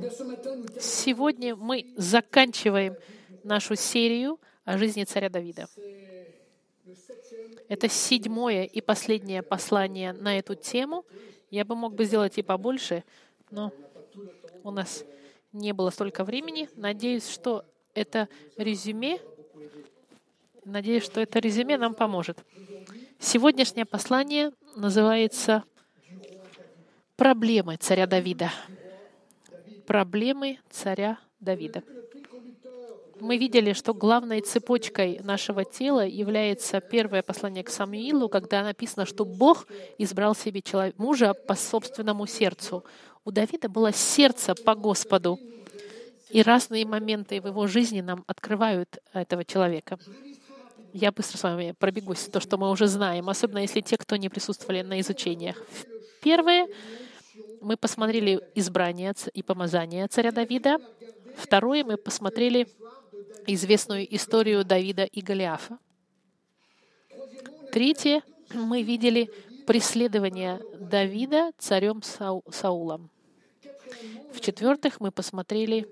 Сегодня мы заканчиваем нашу серию о жизни царя Давида. Это 7-е и последнее послание на эту тему. Я бы мог сделать и побольше, но у нас не было столько времени. Надеюсь, что это резюме нам поможет. Сегодняшнее послание называется «Проблемы царя Давида». Проблемы царя Давида. Мы видели, что главной цепочкой нашего тела является первое послание к Самуилу, когда написано, что Бог избрал себе мужа по собственному сердцу. У Давида было сердце по Господу, и разные моменты в его жизни нам открывают этого человека. Я быстро с вами пробегусь, то, что мы уже знаем, особенно если те, кто не присутствовали на изучениях. Первое, мы посмотрели избрание и помазание царя Давида. Второе, мы посмотрели известную историю Давида и Голиафа. Третье, мы видели преследование Давида царем Саулом. В-четвертых, мы посмотрели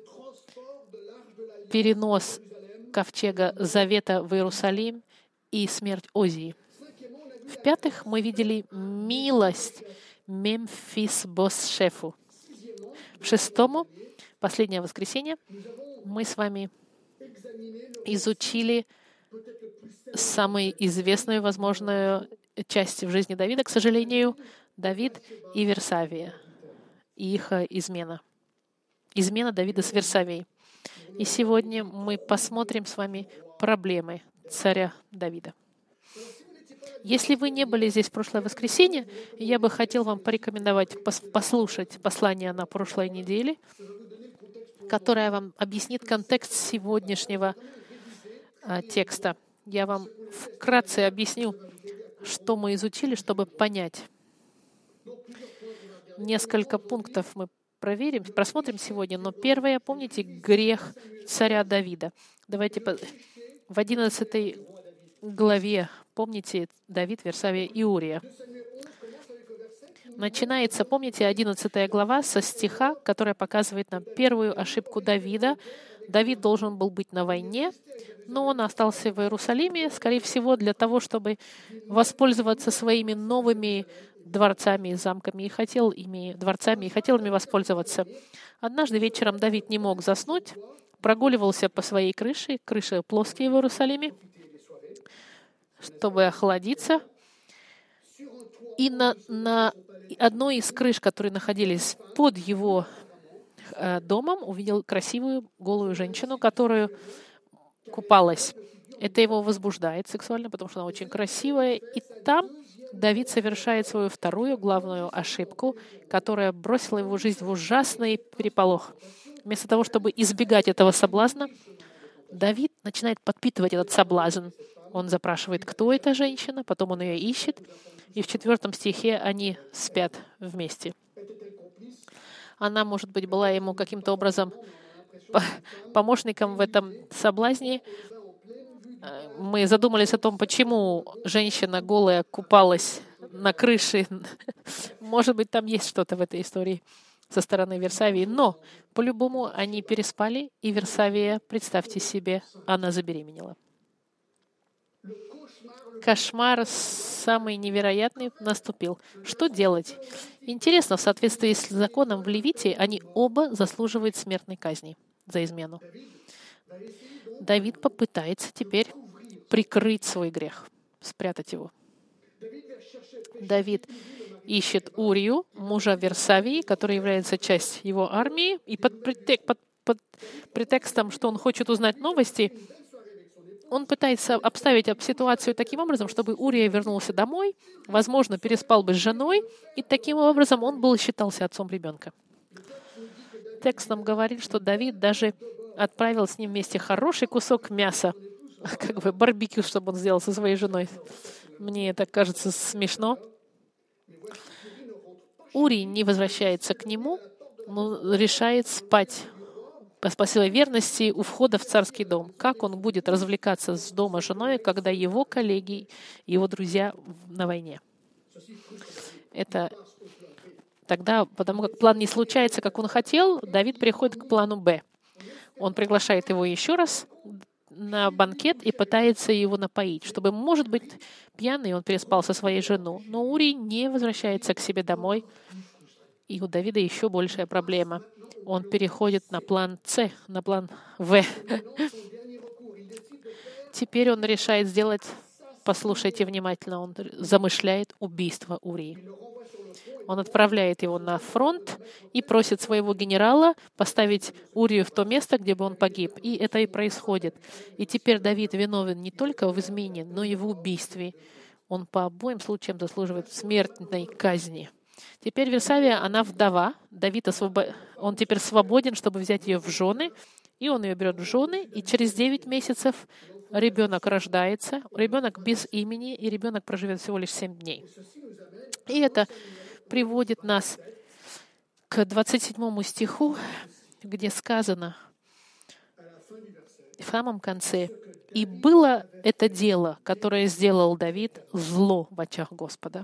перенос ковчега Завета в Иерусалим и смерть Озии. В-пятых, мы видели милость Мемфисбошефу. В-шестому, последнее воскресенье, мы с вами изучили самую известную, возможную часть в жизни Давида, к сожалению, Давид и Версавия, и их измена. Измена Давида с Версавией. И сегодня мы посмотрим с вами проблемы царя Давида. Если вы не были здесь в прошлое воскресенье, я бы хотел вам порекомендовать послушать послание на прошлой неделе, которое вам объяснит контекст сегодняшнего текста. Я вам вкратце объясню, что мы изучили, чтобы понять. Несколько пунктов мы просмотрим сегодня, но первое, помните, грех царя Давида. Давайте в 11 главе, помните, Давид, Версавия и Урия. Начинается, помните, 11 глава со стиха, который показывает нам первую ошибку Давида. Давид должен был быть на войне, но он остался в Иерусалиме, скорее всего, для того, чтобы воспользоваться своими новыми дворцами и замками, и хотел ими воспользоваться. Однажды вечером Давид не мог заснуть, прогуливался по своей крыше плоские в Иерусалиме, чтобы охладиться. И на одной из крыш, которые находились под его домом, увидел красивую голую женщину, которая купалась. Это его возбуждает сексуально, потому что она очень красивая. И там Давид совершает свою вторую главную ошибку, которая бросила его жизнь в ужасный переполох. Вместо того, чтобы избегать этого соблазна, Давид начинает подпитывать этот соблазн. Он запрашивает, кто эта женщина, потом он ее ищет, и в 4 стихе они спят вместе. Она, может быть, была ему каким-то образом помощником в этом соблазне. Мы задумались о том, почему женщина голая купалась на крыше. Может быть, там есть что-то в этой истории со стороны Версавии. Но, по-любому, они переспали, и Версавия, представьте себе, она забеременела. Кошмар самый невероятный наступил. Что делать? Интересно, в соответствии с законом в Левите, они оба заслуживают смертной казни за измену. Давид попытается теперь прикрыть свой грех, спрятать его. Давид ищет Урию, мужа Версавии, который является частью его армии, и под претекстом, что он хочет узнать новости, он пытается обставить ситуацию таким образом, чтобы Урия вернулся домой, возможно, переспал бы с женой, и таким образом он считался отцом ребенка. Текст нам говорит, что Давид даже отправил с ним вместе хороший кусок мяса, как бы барбекю, чтобы он сделал со своей женой. Мне это кажется смешно. Урий не возвращается к нему, но решает спать по своей верности у входа в царский дом. Как он будет развлекаться с дома женой, когда его коллеги, его друзья на войне? Это Тогда, потому как план не случается, как он хотел, Давид приходит к плану «Б». Он приглашает его еще раз на банкет и пытается его напоить, чтобы, может быть, пьяный он переспал со своей женой. Но Урий не возвращается к себе домой, и у Давида еще большая проблема. Он переходит на план С, на план В. Теперь он решает сделать, послушайте внимательно, он замышляет убийство Урии. Он отправляет его на фронт и просит своего генерала поставить Урию в то место, где бы он погиб. И это и происходит. И теперь Давид виновен не только в измене, но и в убийстве. Он по обоим случаям заслуживает смертной казни. Теперь Версавия, она вдова. Давид он теперь свободен, чтобы взять ее в жены. И он ее берет в жены, и через 9 месяцев ребенок рождается, ребенок без имени, и ребенок проживет всего лишь 7 дней. И это приводит нас к 27 стиху, где сказано в самом конце: «И было это дело, которое сделал Давид, зло в очах Господа».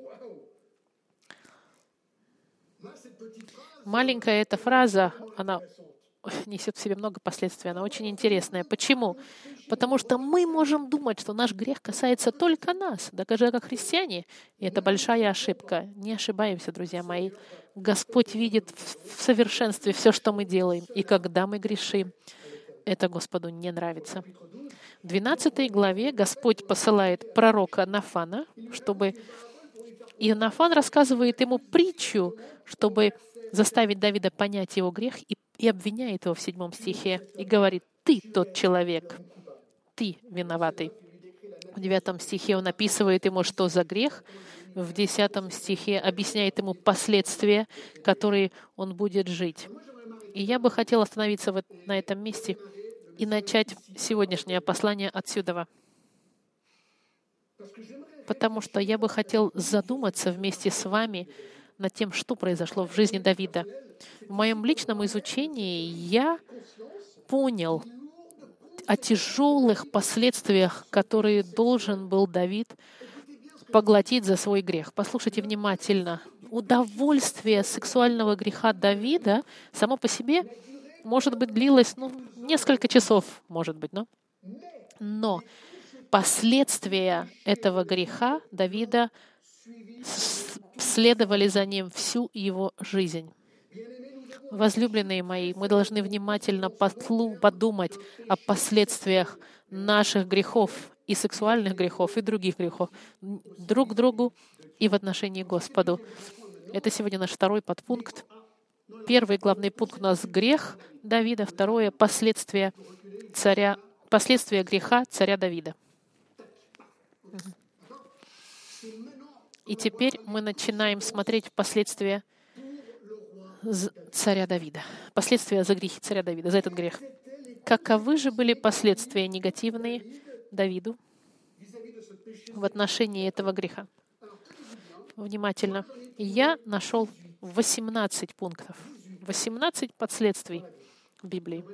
Маленькая эта фраза, она несет в себе много последствий, она очень интересная. Почему? Потому что мы можем думать, что наш грех касается только нас, даже как христиане. И это большая ошибка. Не ошибаемся, друзья мои. Господь видит в совершенстве все, что мы делаем. И когда мы грешим, это Господу не нравится. В 12 главе Господь посылает пророка Нафана, и Нафан рассказывает ему притчу, чтобы заставить Давида понять его грех, и обвиняет его в 7 стихе и говорит: «Ты тот человек, ты виноватый». В 9 стихе он описывает ему, что за грех. В 10 стихе объясняет ему последствия, которые он будет жить. И я бы хотела остановиться на этом месте и начать сегодняшнее послание отсюда. Потому что я бы хотел задуматься вместе с вами над тем, что произошло в жизни Давида. В моем личном изучении я понял о тяжелых последствиях, которые должен был Давид поглотить за свой грех. Послушайте внимательно. Удовольствие сексуального греха Давида само по себе, может быть, длилось несколько часов, может быть, но последствия этого греха Давида следовали за ним всю его жизнь. Возлюбленные мои, мы должны внимательно подумать о последствиях наших грехов, и сексуальных грехов, и других грехов, друг к другу и в отношении к Господу. Это сегодня наш 2 подпункт. 1 главный пункт у нас — грех Давида, 2 — последствия греха царя Давида. И теперь мы начинаем смотреть последствия царя Давида. Последствия за грехи царя Давида, за этот грех. Каковы же были последствия негативные Давиду в отношении этого греха? Внимательно. Я нашел 18 пунктов, 18 последствий в Библии.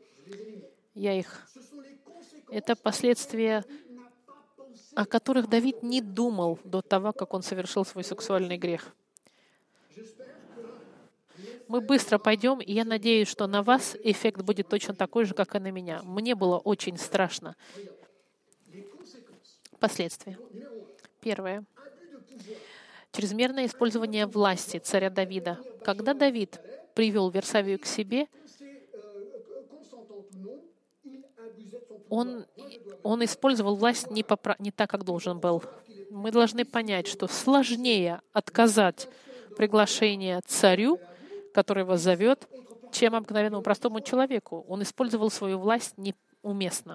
Это последствия, о которых Давид не думал до того, как он совершил свой сексуальный грех. Мы быстро пойдем, и я надеюсь, что на вас эффект будет точно такой же, как и на меня. Мне было очень страшно. Последствия. 1. Чрезмерное использование власти царя Давида. Когда Давид привел Версавию к себе, он использовал власть не так, как должен был. Мы должны понять, что сложнее отказать приглашение царю, который вас зовет, чем обыкновенному простому человеку. Он использовал свою власть неуместно.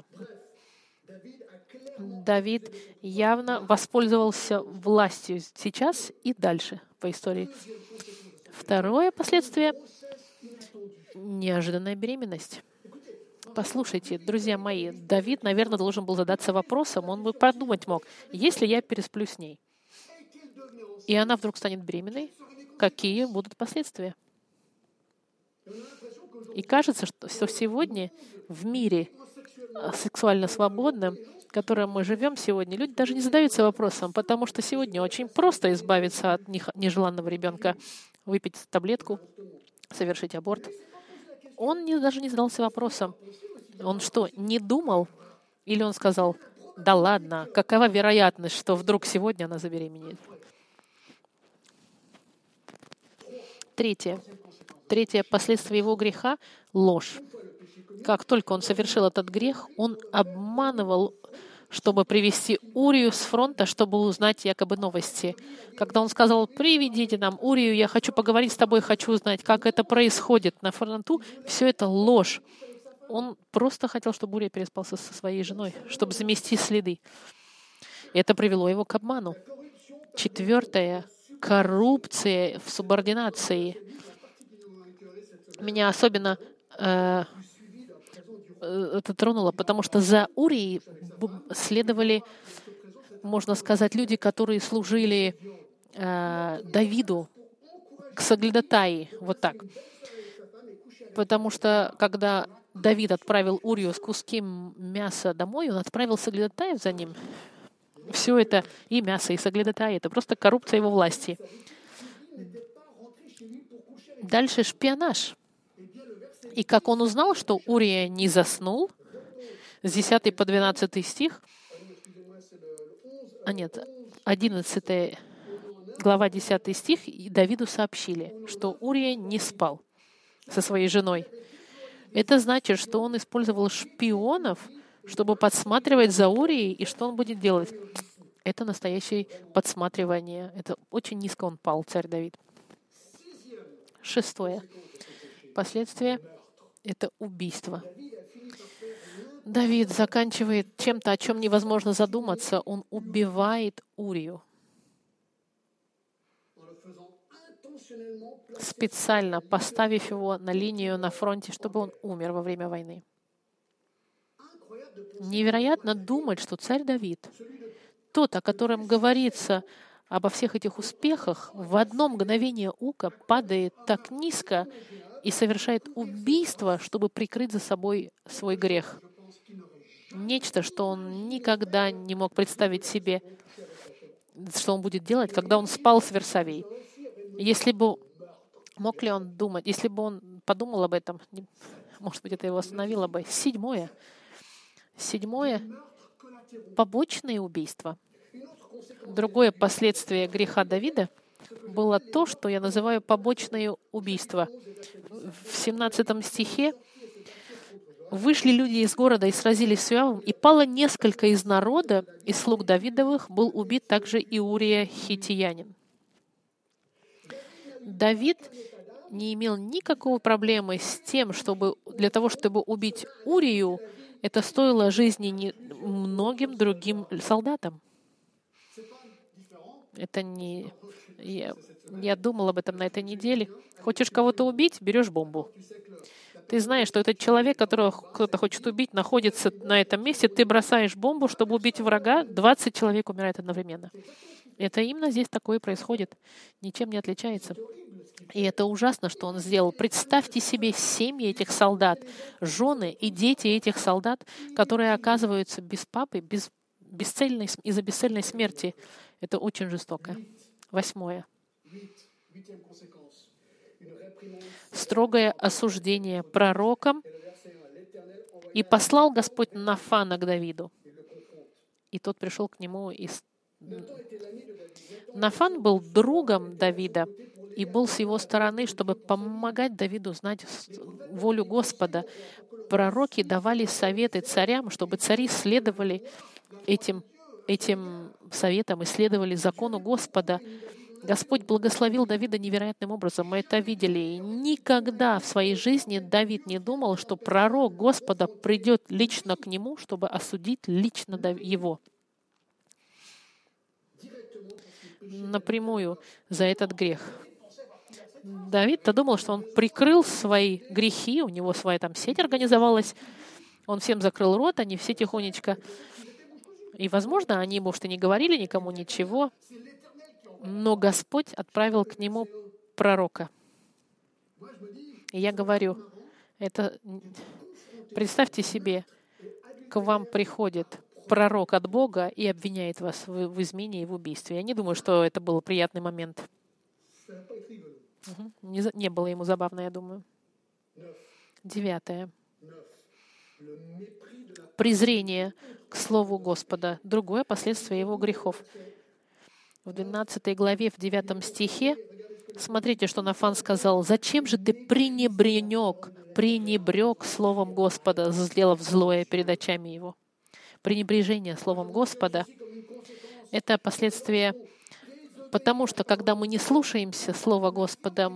Давид явно воспользовался властью сейчас и дальше по истории. 2 последствие — неожиданная беременность. Послушайте, друзья мои, Давид, наверное, должен был задаться вопросом, он бы подумать мог: если я пересплю с ней, и она вдруг станет беременной, какие будут последствия? И кажется, что сегодня в мире сексуально свободном, в котором мы живем сегодня, люди даже не задаются вопросом, потому что сегодня очень просто избавиться от нежеланного ребенка. выпить таблетку, совершить аборт. Он даже не задался вопросом. Он что, не думал? Или он сказал, да ладно, какова вероятность, что вдруг сегодня она забеременеет? Третье последствие его греха — ложь. Как только он совершил этот грех, он обманывал, чтобы привести Урию с фронта, чтобы узнать якобы новости. Когда он сказал, приведите нам Урию, я хочу поговорить с тобой, хочу узнать, как это происходит на фронту, все это ложь. Он просто хотел, чтобы Урия переспал со своей женой, чтобы замести следы. Это привело его к обману. Четвертое — коррупция в субординации. Меня особенно это тронуло, потому что за Урией следовали, можно сказать, люди, которые служили Давиду, к Соглядатаи, вот так. Потому что, когда Давид отправил Урию с куски мяса домой, он отправил Соглядатаев за ним. Все это, и мясо, и Соглядатаи, это просто коррупция его власти. Дальше шпионаж. И как он узнал, что Урия не заснул, с 10 по 12 стих, 11 глава 10 стих, и Давиду сообщили, что Урия не спал со своей женой. Это значит, что он использовал шпионов, чтобы подсматривать за Урией, и что он будет делать? Это настоящее подсматривание. Это очень низко он пал, царь Давид. 6. Последствие — это убийство. Давид заканчивает чем-то, о чем невозможно задуматься. Он убивает Урию. Специально поставив его на линию на фронте, чтобы он умер во время войны. Невероятно думать, что царь Давид, тот, о котором говорится обо всех этих успехах, в одно мгновение ока падает так низко и совершает убийство, чтобы прикрыть за собой свой грех. Нечто, что он никогда не мог представить себе, что он будет делать, когда он спал с Версавией. Если бы мог ли он думать, если бы он подумал об этом, может быть, это его остановило бы. 7. Побочное убийство. Другое последствие греха Давида было то, что я называю побочное убийство. В 17 стихе вышли люди из города и сразились с Иоавом, и пало несколько из народа, из слуг Давидовых, был убит также и Урия хиттиянин. Давид не имел никакой проблемы с тем, чтобы для того, чтобы убить Урию, это стоило жизни многим другим солдатам. Это не... Я думал об этом на этой неделе. Хочешь кого-то убить — берешь бомбу. Ты знаешь, что этот человек, которого кто-то хочет убить, находится на этом месте, ты бросаешь бомбу, чтобы убить врага, 20 человек умирает одновременно. Это именно здесь такое происходит. Ничем не отличается. И это ужасно, что он сделал. Представьте себе семьи этих солдат, жены и дети этих солдат, которые оказываются без папы, из-за бесцельной смерти. Это очень жестоко. 8. Строгое осуждение пророком. «И послал Господь Нафана к Давиду». И тот пришел к нему. Нафан был другом Давида и был с его стороны, чтобы помогать Давиду знать волю Господа. Пророки давали советы царям, чтобы цари следовали этим советам и следовали закону Господа. Господь благословил Давида невероятным образом. Мы это видели. И никогда в своей жизни Давид не думал, что пророк Господа придет лично к нему, чтобы осудить лично его. Напрямую за этот грех. Давид-то думал, что он прикрыл свои грехи, у него своя там сеть организовалась, он всем закрыл рот, они все тихонечко. И, возможно, они, может, и не говорили никому ничего, но Господь отправил к нему пророка. И я говорю, представьте себе, к вам приходит пророк от Бога и обвиняет вас в измене и в убийстве. Я не думаю, что это был приятный момент. Не было ему забавно, я думаю. 9. Презрение к Слову Господа. Другое последствие его грехов. В 12 главе, в 9 стихе, смотрите, что Нафан сказал. «Зачем же ты пренебрег Словом Господа, сделав злое перед очами его?» Пренебрежение Словом Господа — это последствие, потому что, когда мы не слушаемся Слова Господа,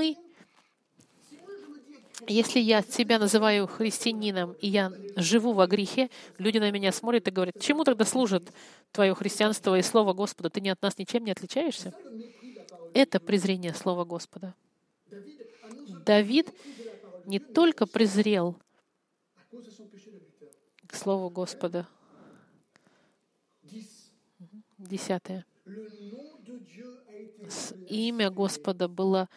если я себя называю христианином, и я живу во грехе, люди на меня смотрят и говорят: чему тогда служит твое христианство и Слово Господа? Ты от нас ничем не отличаешься? Это презрение Слова Господа. Давид не только презрел к Слову Господа. 10. Имя Господа было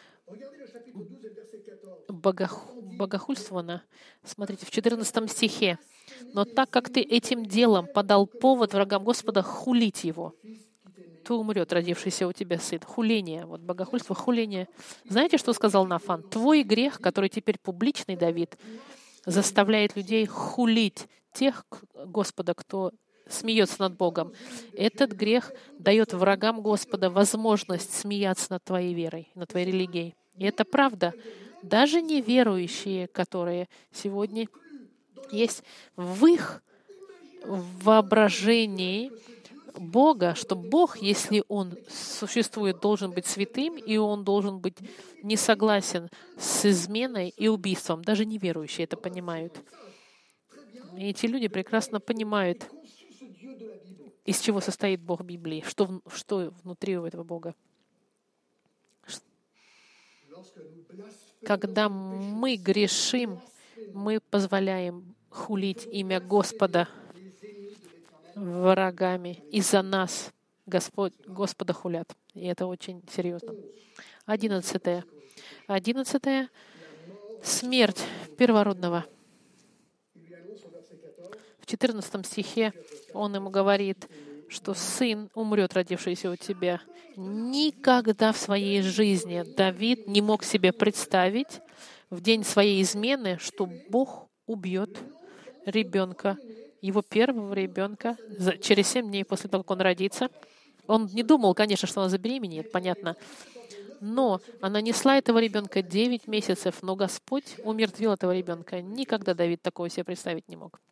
богохульствовано. Смотрите, в 14 стихе. «Но так как ты этим делом подал повод врагам Господа хулить его, то умрет родившийся у тебя сын». Хуление. Вот богохульство, хуление. Знаете, что сказал Нафан? Твой грех, который теперь публичный, Давид, заставляет людей хулить тех Господа, кто смеется над Богом. Этот грех дает врагам Господа возможность смеяться над твоей верой, над твоей религией. И это правда. Даже неверующие, которые сегодня есть в их воображении Бога, что Бог, если Он существует, должен быть святым, и Он должен быть не согласен с изменой и убийством. Даже неверующие это понимают. И эти люди прекрасно понимают, из чего состоит Бог Библии, что внутри у этого Бога. Когда мы грешим, мы позволяем хулить имя Господа врагами. Из-за нас Господа хулят. И это очень серьезно. 11. 11. Смерть первородного. В 14 стихе он ему говорит, что сын умрет, родившийся у тебя. Никогда в своей жизни Давид не мог себе представить в день своей измены, что Бог убьет ребенка, его первого ребенка, через 7 дней после того, как он родится. Он не думал, конечно, что она забеременеет, понятно. Но она несла этого ребенка 9 месяцев, но Господь умертвил этого ребенка. Никогда Давид такого себе представить не мог.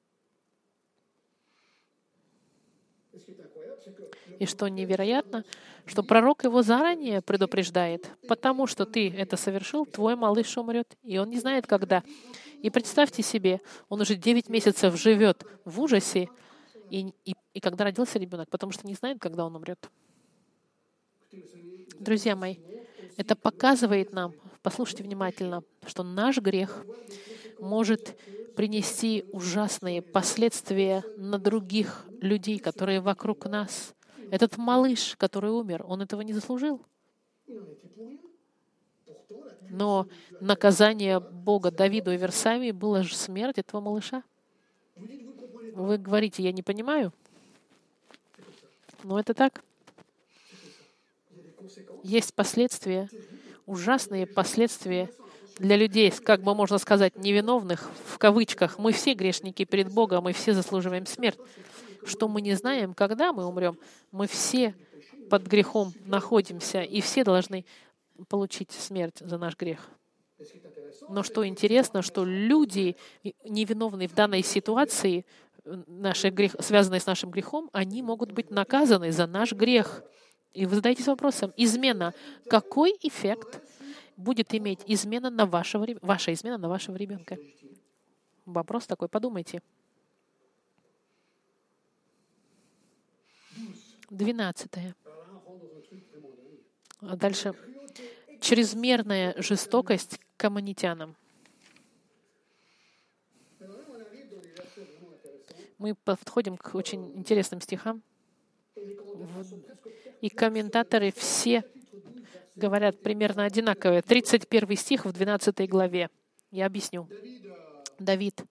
И что невероятно, что пророк его заранее предупреждает, потому что ты это совершил, твой малыш умрет, и он не знает, когда. И представьте себе, он уже 9 месяцев живет в ужасе, и когда родился ребенок, потому что не знает, когда он умрет. Друзья мои, это показывает нам, послушайте внимательно, что наш грех может принести ужасные последствия на других людей, которые вокруг нас. Этот малыш, который умер, он этого не заслужил. Но наказание Бога Давиду и Версавии было же смерть этого малыша. Вы говорите, я не понимаю. Но это так. Есть последствия, ужасные последствия для людей, как бы можно сказать, невиновных, в кавычках. Мы все грешники перед Богом, мы все заслуживаем смерть. Что мы не знаем, когда мы умрем, мы все под грехом находимся, и все должны получить смерть за наш грех. Но что интересно, что люди, невиновные в данной ситуации, связанные с нашим грехом, они могут быть наказаны за наш грех. И вы задаетесь вопросом, измена, какой эффект будет иметь ваша измена на вашего ребенка? Вопрос такой, подумайте. 12. Дальше. Чрезмерная жестокость к аммонитянам. Мы подходим к очень интересным стихам. И комментаторы все говорят примерно одинаковые. 31 стих в 12 главе. Я объясню. Давид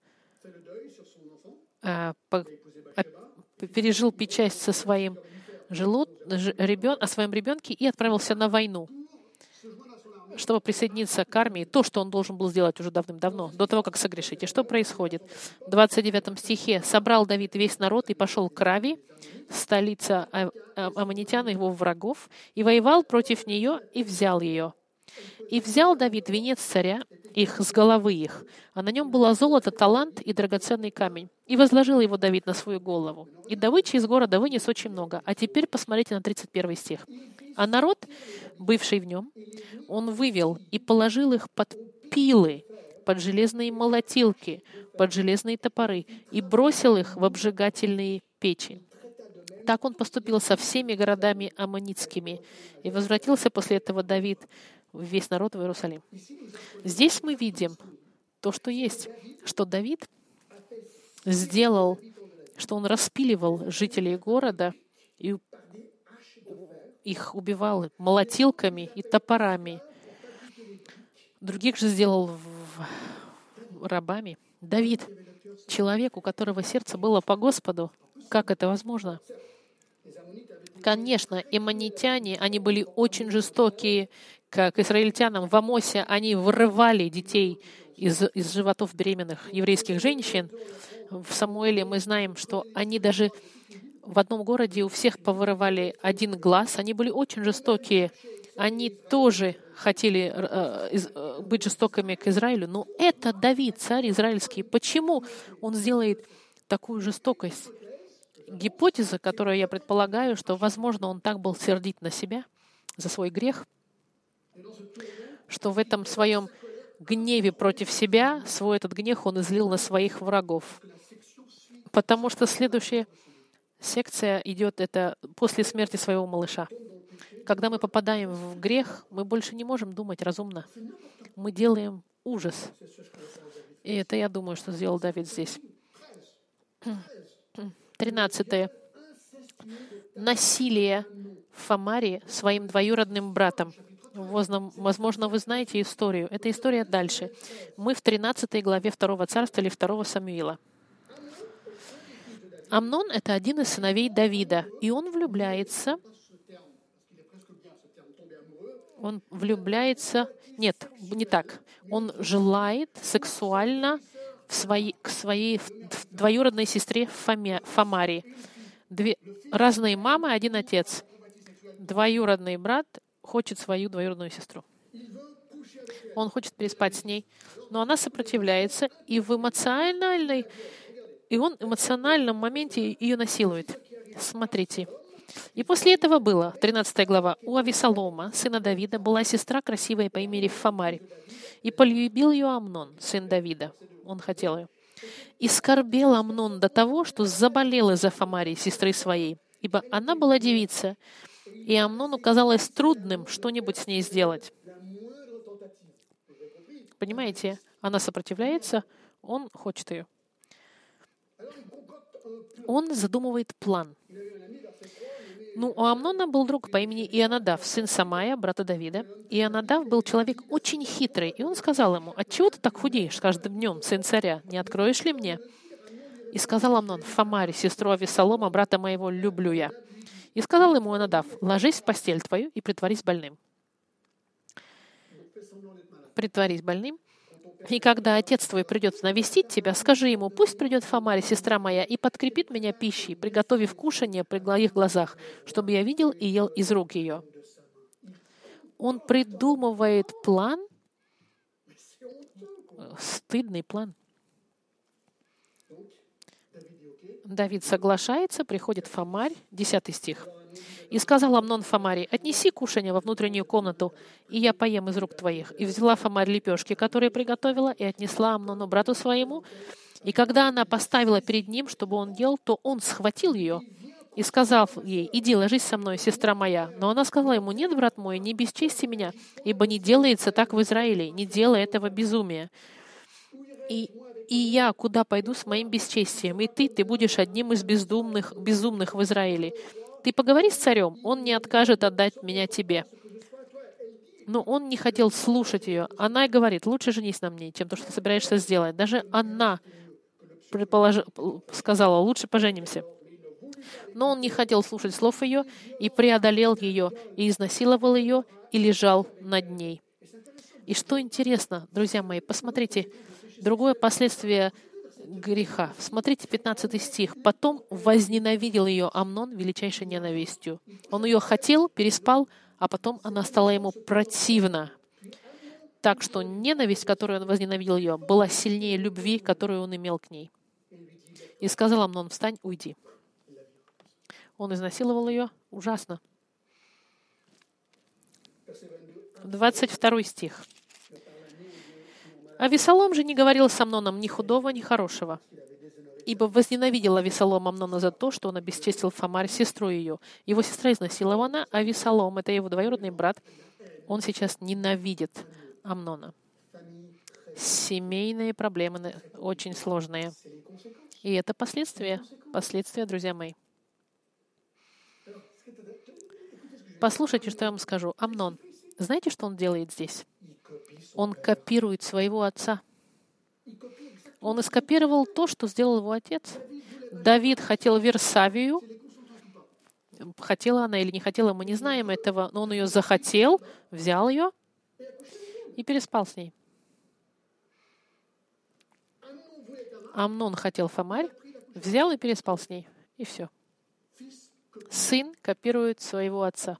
пережил печать о своем ребенке и отправился на войну. чтобы присоединиться к армии, то, что он должен был сделать уже давным-давно, до того, как согрешить. И что происходит? В 29 стихе «Собрал Давид весь народ и пошел к Раве, столица аммонитян и его врагов, и воевал против нее, и взял ее. И взял Давид венец царя их с головы их, а на нем было золото, талант и драгоценный камень. И возложил его Давид на свою голову. И добычи из города вынес очень много». А теперь посмотрите на 31 стих. «А народ, бывший в нем, он вывел и положил их под пилы, под железные молотилки, под железные топоры, и бросил их в обжигательные печи. Так он поступил со всеми городами аммонитскими. И возвратился после этого Давид, весь народ в Иерусалим». Здесь мы видим то, что есть, что Давид сделал, что он распиливал жителей города и их убивал молотилками и топорами. Других же сделал рабами. Давид, человек, у которого сердце было по Господу, как это возможно? Конечно, аммонитяне, они были очень жестокие, как израильтянам. В Амосе они вырывали детей из животов беременных еврейских женщин. В Самуэле мы знаем, что они даже в одном городе у всех повырывали один глаз. Они были очень жестокие. Они тоже хотели быть жестокими к Израилю. Но это Давид, царь израильский. Почему он сделает такую жестокость? Гипотеза, которую я предполагаю, что, возможно, он так был сердит на себя за свой грех, что в этом своем гневе против себя, свой этот гнев он излил на своих врагов. Потому что следующая секция идет это после смерти своего малыша. Когда мы попадаем в грех, мы больше не можем думать разумно. Мы делаем ужас. И это, я думаю, что сделал Давид здесь. 13. Насилие в Фамаре своим двоюродным братом. Возможно, вы знаете историю. Эта история дальше. Мы в 13 главе 2 царства или 2 Самуила. Амнон — это один из сыновей Давида, и он влюбляется. Нет, не так. Он желает сексуально к своей двоюродной сестре Фамаре. Две разные мамы, один отец. Двоюродный брат хочет свою двоюродную сестру. Он хочет переспать с ней, но она сопротивляется, и он в эмоциональном моменте ее насилует. Смотрите. И после этого было, 13 глава, у Авесолома, сына Давида, была сестра красивая по имени Фамарь. И полюбил ее Амнон, сын Давида. Он хотел ее. И скорбел Амнон до того, что заболел из-за Фамари, сестры своей, ибо она была девица, и Амнону казалось трудным что-нибудь с ней сделать. Понимаете? Она сопротивляется, он хочет ее. Он задумывает план. У Амнона был друг по имени Ионадав, сын Самая, брата Давида. Ионадав был человек очень хитрый, и он сказал ему: «Отчего ты так худеешь каждым днем, сын царя? Не откроешь ли мне?» И сказал Амнон: «Фамаре, сестру Авесолома, брата моего, люблю я». И сказал ему Ионадав: «Ложись в постель твою и притворись больным». Притворись больным. И когда отец твой придет навестить тебя, скажи ему: пусть придет Фамаре, сестра моя, и подкрепит меня пищей, приготовив кушанье при моих глазах, чтобы я видел и ел из рук ее. Он придумывает план, стыдный план. Давид соглашается, приходит Фамарь, 10 стих. «И сказал Амнон Фамаре: отнеси кушанье во внутреннюю комнату, и я поем из рук твоих. И взяла Фамарь лепешки, которые приготовила, и отнесла Амнону, брату своему. И когда она поставила перед ним, чтобы он ел, то он схватил ее и сказал ей: иди, ложись со мной, сестра моя. Но она сказала ему: нет, брат мой, не бесчести меня, ибо не делается так в Израиле, не делай этого безумия. И я куда пойду с моим бесчестием, и ты будешь одним из безумных в Израиле. Ты поговори с царем, он не откажет отдать меня тебе». Но он не хотел слушать ее. Она и говорит: лучше женись на мне, чем то, что ты собираешься сделать. Даже она сказала: лучше поженимся. Но он не хотел слушать слов ее, и преодолел ее, и изнасиловал ее, и лежал над ней. И что интересно, друзья мои, посмотрите, другое последствие греха. Смотрите, 15 стих. «Потом возненавидел ее Амнон величайшей ненавистью». Он ее хотел, переспал, а потом она стала ему противна. Так что ненависть, которую он возненавидел ее, была сильнее любви, которую он имел к ней. И сказал Амнон: «Встань, уйди». Он изнасиловал ее ужасно. 22 стих. «Авесолом же не говорил с Амноном ни худого, ни хорошего, ибо возненавидел Авесолом Амнона за то, что он обесчестил Фамарь, сестру ее. Его сестра изнасилована, а Авесолом, это его двоюродный брат, он сейчас ненавидит Амнона». Семейные проблемы очень сложные. И это последствия, друзья мои. Послушайте, что я вам скажу. Амнон, знаете, что он делает здесь? Он копирует своего отца. Он скопировал то, что сделал его отец. Давид хотел Версавию. Хотела она или не хотела, мы не знаем этого, но он ее захотел, взял ее и переспал с ней. Амнон хотел Фамарь, взял и переспал с ней. И все. Сын копирует своего отца.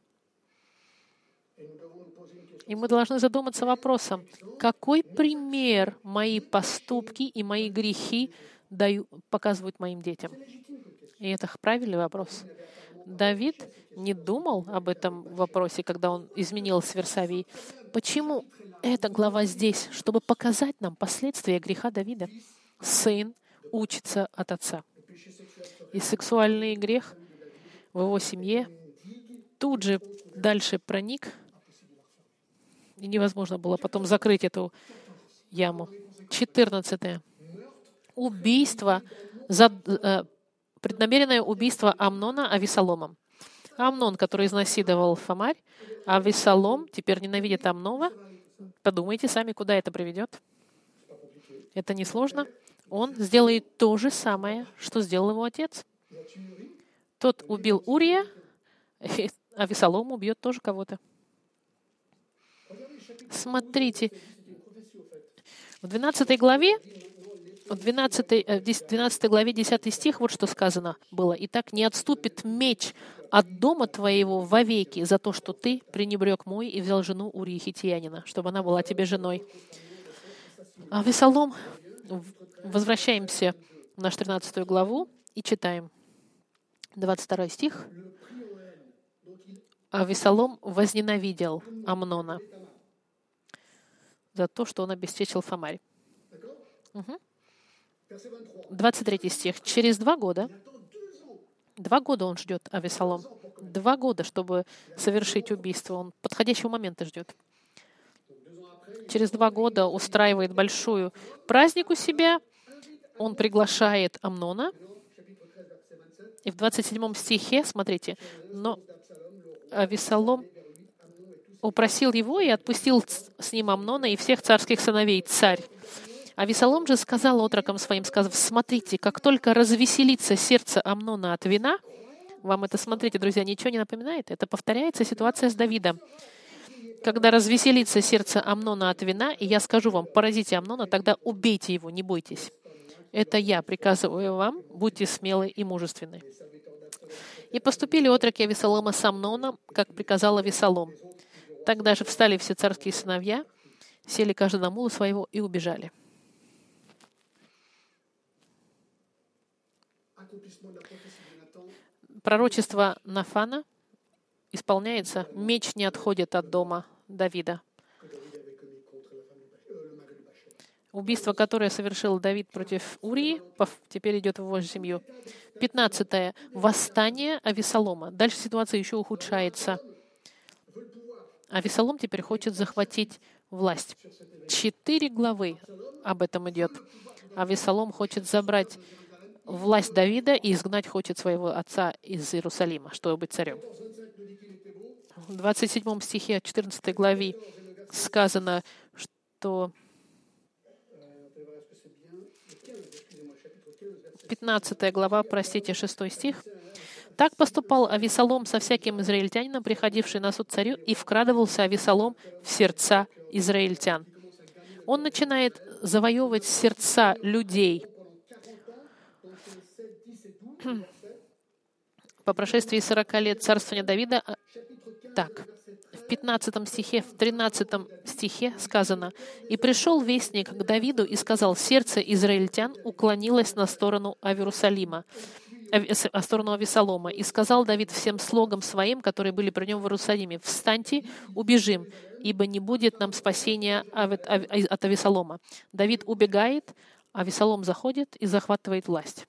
И мы должны задуматься вопросом, какой пример мои поступки и мои грехи показывают моим детям? И это правильный вопрос. Давид не думал об этом вопросе, когда он изменил с Версавией. Почему эта глава здесь? Чтобы показать нам последствия греха Давида. Сын учится от отца. И сексуальный грех в его семье тут же дальше проник, и невозможно было потом закрыть эту яму. 14. Убийство, преднамеренное убийство Амнона Авесоломом. Амнон, который изнасиловал Фамарь, а Авесолом теперь ненавидит Амнона. Подумайте сами, куда это приведет. Это несложно. Он сделает то же самое, что сделал его отец. Тот убил Урия, а Авесолом убьет тоже кого-то. Смотрите, в 12 главе, 12 главе 10 стих, вот что сказано было. «Итак, не отступит меч от дома твоего вовеки за то, что ты пренебрег мой и взял жену Урии Хиттиянина, чтобы она была тебе женой». А Авесолом, возвращаемся в нашу 13 главу и читаем. 22 стих. «Авесолом возненавидел Амнона за то, что он обесчестил Фамарь». 23 стих. «Через 2 года он ждет Авесолом. 2 года, чтобы совершить убийство. Он подходящего момента ждет. Через 2 года устраивает большую праздник у себя. Он приглашает Амнона. И в 27 стихе, смотрите, но Авесолом упросил его и отпустил с ним Амнона и всех царских сыновей, царь. Авесолом же сказал отрокам своим, сказав: «Смотрите, как только развеселится сердце Амнона от вина». Вам это, смотрите, друзья, ничего не напоминает? Это повторяется ситуация с Давидом. «Когда развеселится сердце Амнона от вина, и я скажу вам: поразите Амнона, тогда убейте его, не бойтесь. Это я приказываю вам, будьте смелы и мужественны». И поступили отроки Авесолома с Амноном, как приказал Авесолом. Тогда же встали все царские сыновья, сели каждый на мула своего и убежали. Пророчество Нафана исполняется. Меч не отходит от дома Давида. Убийство, которое совершил Давид против Урии, теперь идет в его семью. 15. Восстание Авесолома. Дальше ситуация еще ухудшается. Авесолом теперь хочет захватить власть. 4 главы об этом идет. Авесолом хочет забрать власть Давида и изгнать хочет своего отца из Иерусалима, чтобы быть царем. В 27 стихе 14 главе сказано, что 15 глава, 6 стих. Так поступал Авесолом со всяким израильтянином, приходивший на суд царю, и вкрадывался Авесолом в сердца израильтян. Он начинает завоевывать сердца людей. По прошествии 40 лет царствования Давида, так, в 15 стихе, в 13 стихе сказано: «И пришел вестник к Давиду и сказал: сердце израильтян уклонилось на сторону Иерусалима, в сторону Авесолома. И сказал Давид всем слугам своим, которые были при нем в Иерусалиме: встаньте, убежим, ибо не будет нам спасения от Авесолома». Давид убегает, Авесолом заходит и захватывает власть.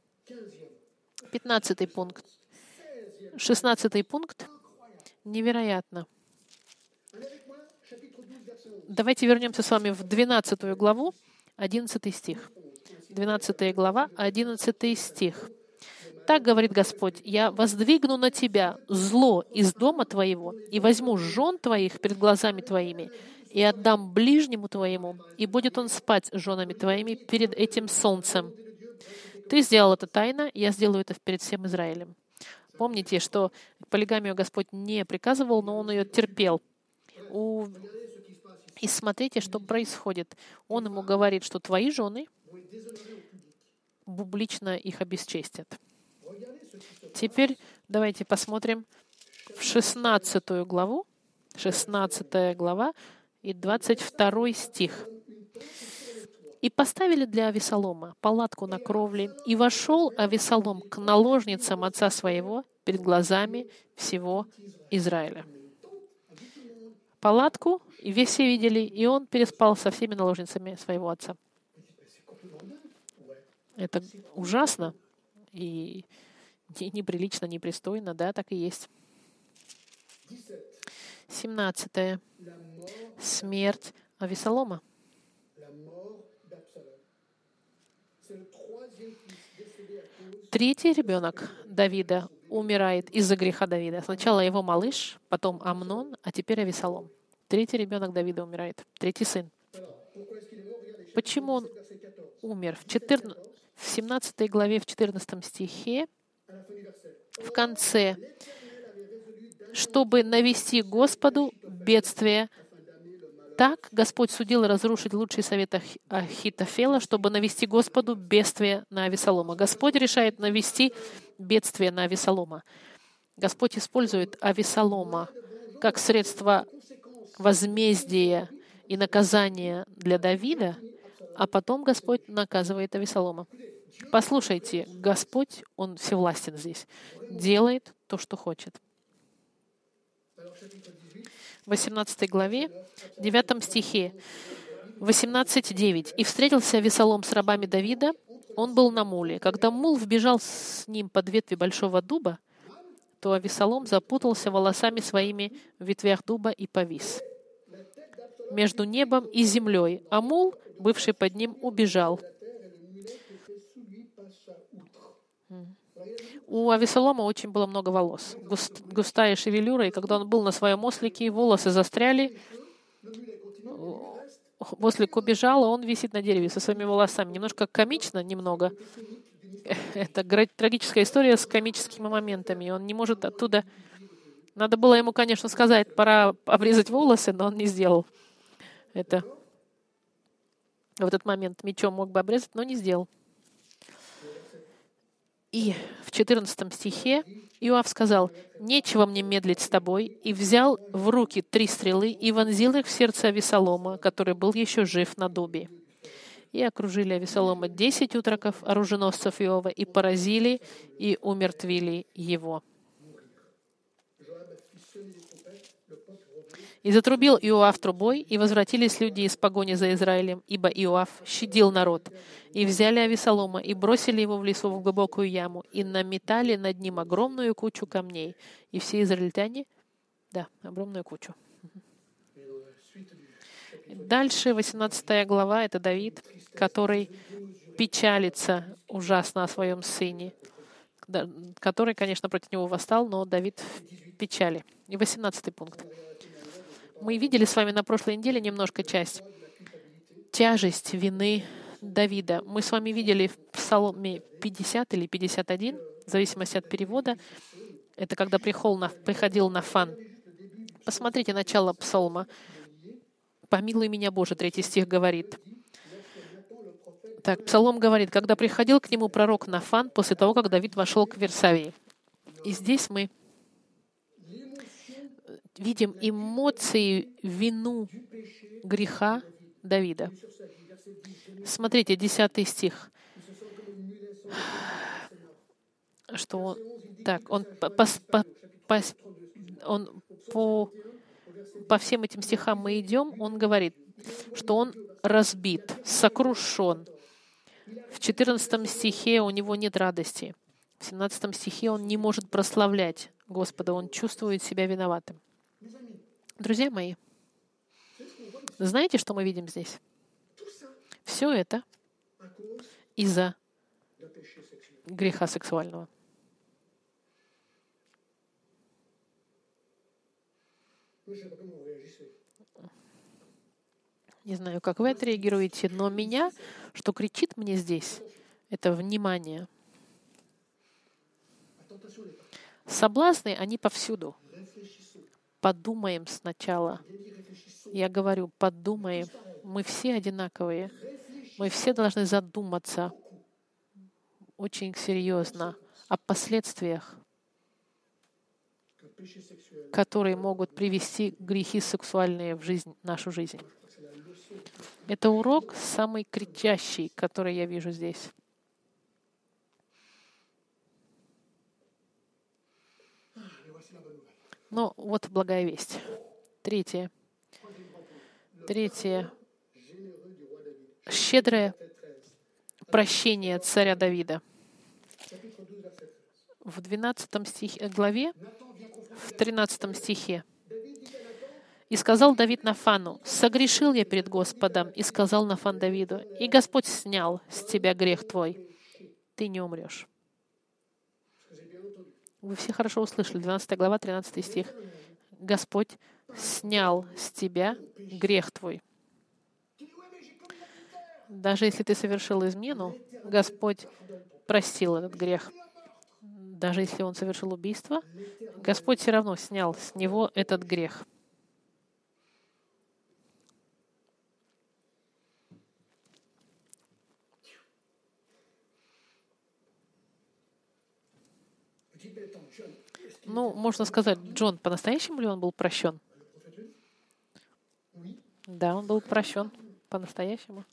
15 пункт. 16 пункт. Невероятно. Давайте вернемся с вами в 12 главу, 11 стих. 12 глава, 11 стих. «Так говорит Господь: я воздвигну на тебя зло из дома твоего, и возьму жен твоих перед глазами твоими, и отдам ближнему твоему, и будет он спать с женами твоими перед этим солнцем. Ты сделал это тайно, я сделаю это перед всем Израилем». Помните, что полигамию Господь не приказывал, но Он ее терпел. И смотрите, что происходит. Он ему говорит, что твои жены публично их обесчестят. Теперь давайте посмотрим в 16 главу, 16 глава и 22 стих. «И поставили для Авесолома палатку на кровле, и вошел Авесолом к наложницам отца своего перед глазами всего Израиля». Палатку, и все видели, и он переспал со всеми наложницами своего отца. Это ужасно и неприлично, непристойно, да, так и есть. 17. Смерть Авесолома. Третий ребенок Давида умирает из-за греха Давида. Сначала его малыш, потом Амнон, а теперь Авесолом. Третий ребенок Давида умирает. Третий сын. Почему он умер? В 17 главе, в 14 стихе, в конце: «Чтобы навести Господу бедствие». Так Господь судил разрушить лучший совет Ахитофела, чтобы навести Господу бедствие на Авесолома. Господь решает навести бедствие на Авесолома. Господь использует Авесолома как средство возмездия и наказания для Давида, а потом Господь наказывает Авесолома. Послушайте, Господь, Он всевластен здесь, делает то, что хочет. В 18 главе, 9 стихе, 18:9. «И встретился Авесолом с рабами Давида, он был на муле. Когда мул вбежал с ним под ветви большого дуба, то Авесолом запутался волосами своими в ветвях дуба и повис между небом и землей, а мул, бывший под ним, убежал». У Авесолома очень было много волос, густая шевелюра, и когда он был на своем ослике, волосы застряли, ослик убежал, а он висит на дереве со своими волосами. Немножко комично, немного. Это трагическая история с комическими моментами. Он не может оттуда... Надо было ему, конечно, сказать, пора обрезать волосы, но он не сделал это. В этот момент мечом мог бы обрезать, но не сделал. И в 14 стихе Иоав сказал: «Нечего мне медлить с тобой», и взял в руки 3 стрелы и вонзил их в сердце Авесолома, который был еще жив на дубе. И окружили Авесолома 10 утроков, оруженосцев Иова, и поразили, и умертвили его. «И затрубил Иоав трубой, и возвратились люди из погони за Израилем, ибо Иоав щадил народ. И взяли Авесолома, и бросили его в лесу в глубокую яму, и наметали над ним огромную кучу камней. И все израильтяне, огромную кучу». Дальше 18 глава — это Давид, который печалится ужасно о своем сыне, который, конечно, против него восстал, но Давид в печали. И 18 пункт. Мы видели с вами на прошлой неделе немножко часть. Тяжесть вины Давида. Мы с вами видели в Псалме 50 или 51. В зависимости от перевода, это когда приходил Нафан. Посмотрите начало псалма. «Помилуй меня, Боже», 3 стих говорит. Так, Псалом говорит, когда приходил к нему пророк Нафан после того, как Давид вошел к Версавии. И здесь мы видим эмоции, вину греха Давида. Смотрите, 10 стих. Что он, так, он по всем этим стихам мы идем, он говорит, что он разбит, сокрушен. В 14 стихе у него нет радости. В 17 стихе он не может прославлять Господа, он чувствует себя виноватым. Друзья мои, знаете, что мы видим здесь? Все это из-за греха сексуального. Не знаю, как вы отреагируете, но меня, что кричит мне здесь, это внимание. Соблазны, они повсюду. Подумаем сначала. Я говорю, подумаем. Мы все одинаковые. Мы все должны задуматься очень серьезно о последствиях, которые могут привести грехи сексуальные в нашу жизнь. Это урок самый кричащий, который я вижу здесь. Но вот благая весть. Третье. Щедрое прощение царя Давида. В 12 главе, в 13 стихе. «И сказал Давид Нафану, согрешил я перед Господом, и сказал Нафан Давиду, и Господь снял с тебя грех твой, ты не умрешь». Вы все хорошо услышали, 12 глава, 13 стих. «Господь снял с тебя грех твой». Даже если ты совершил измену, Господь простил этот грех. Даже если он совершил убийство, Господь все равно снял с него этот грех. Ну, можно сказать, Джон, по-настоящему ли он был прощен? Да, он был прощен по-настоящему.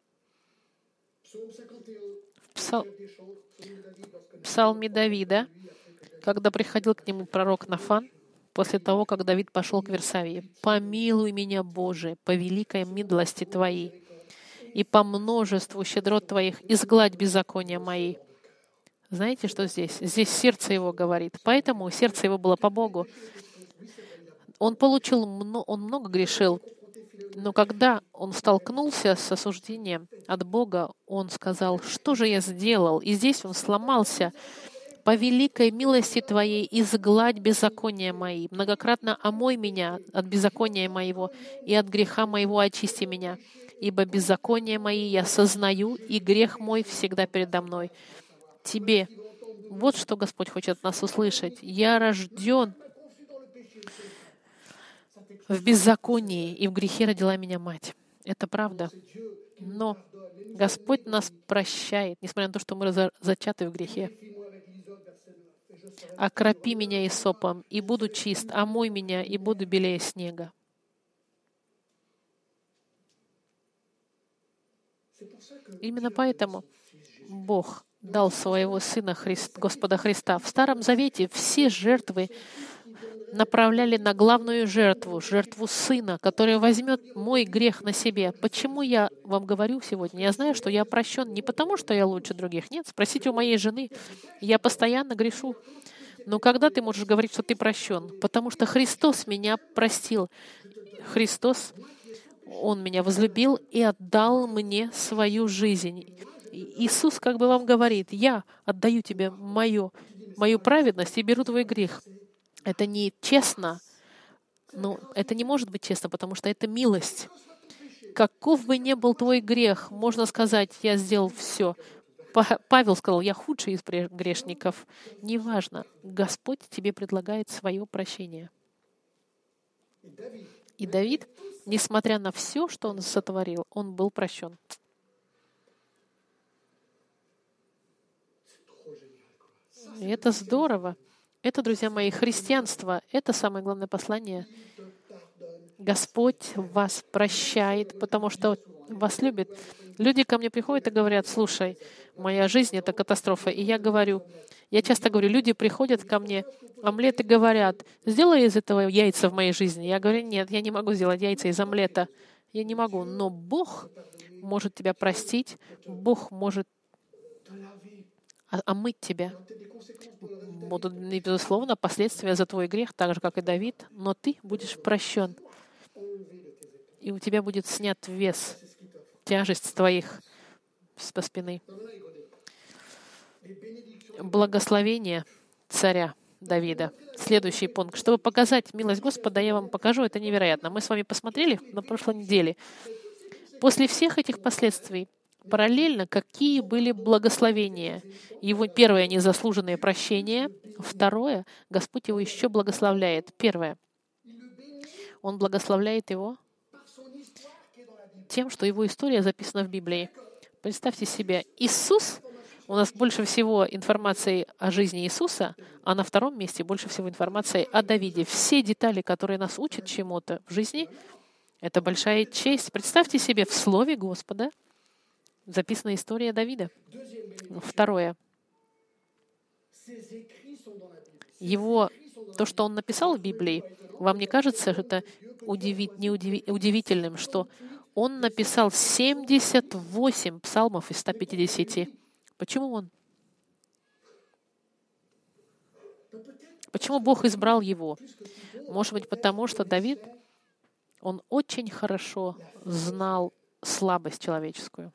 В Псалме Давида, когда приходил к нему пророк Нафан, после того, как Давид пошел к Версавии, «Помилуй меня, Боже, по великой милости Твоей, и по множеству щедрот Твоих изгладь беззакония мои». Знаете, что здесь? Здесь сердце его говорит. Поэтому сердце его было по Богу. Он много грешил, но когда он столкнулся с осуждением от Бога, он сказал, что же я сделал? И здесь он сломался. «По великой милости Твоей изгладь беззакония мои, многократно омой меня от беззакония моего, и от греха моего очисти меня. Ибо беззакония мои я сознаю, и грех мой всегда передо мной». Тебе. Вот что Господь хочет от нас услышать. Я рожден в беззаконии, и в грехе родила меня мать. Это правда. Но Господь нас прощает, несмотря на то, что мы зачаты в грехе. «Окропи меня исопом, и буду чист, омой меня, и буду белее снега». Именно поэтому Бог дал своего Сына Господа Христа. В Старом Завете все жертвы направляли на главную жертву Сына, который возьмет мой грех на себе. Почему я вам говорю сегодня? Я знаю, что я прощен не потому, что я лучше других. Нет, спросите у моей жены. Я постоянно грешу. Но когда ты можешь говорить, что ты прощен? Потому что Христос меня простил. Христос, Он меня возлюбил и отдал мне свою жизнь. Иисус как бы вам говорит, я отдаю тебе мою праведность и беру твой грех. Это не честно. Но это не может быть честно, потому что это милость. Каков бы ни был твой грех, можно сказать, я сделал все. Павел сказал, я худший из грешников. Неважно, Господь тебе предлагает свое прощение. И Давид, несмотря на все, что он сотворил, он был прощен. И это здорово. Это, друзья мои, христианство. Это самое главное послание. Господь вас прощает, потому что вас любит. Люди ко мне приходят и говорят, слушай, моя жизнь — это катастрофа. И я часто говорю, люди приходят ко мне, омлет, и говорят, сделай из этого яйца в моей жизни. Я говорю, нет, я не могу сделать яйца из омлета. Я не могу. Но Бог может тебя простить, Бог может омыть тебя. Будут, безусловно, последствия за твой грех, так же, как и Давид, но ты будешь прощен. И у тебя будет снят вес, тяжесть с твоих со спины. Благословение царя Давида. Следующий пункт. Чтобы показать милость Господа, я вам покажу, это невероятно. Мы с вами посмотрели на прошлой неделе. После всех этих последствий, параллельно, какие были благословения. Его первое — незаслуженное прощение. Второе — Господь его еще благословляет. Первое — Он благословляет его тем, что его история записана в Библии. Представьте себе, Иисус, у нас больше всего информации о жизни Иисуса, а на втором месте больше всего информации о Давиде. Все детали, которые нас учат чему-то в жизни, это большая честь. Представьте себе, в Слове Господа записана история Давида. Второе. То, что он написал в Библии, вам не кажется это удивительным, что он написал 78 псалмов из 150? Почему он? Почему Бог избрал его? Может быть, потому что Давид, он очень хорошо знал слабость человеческую.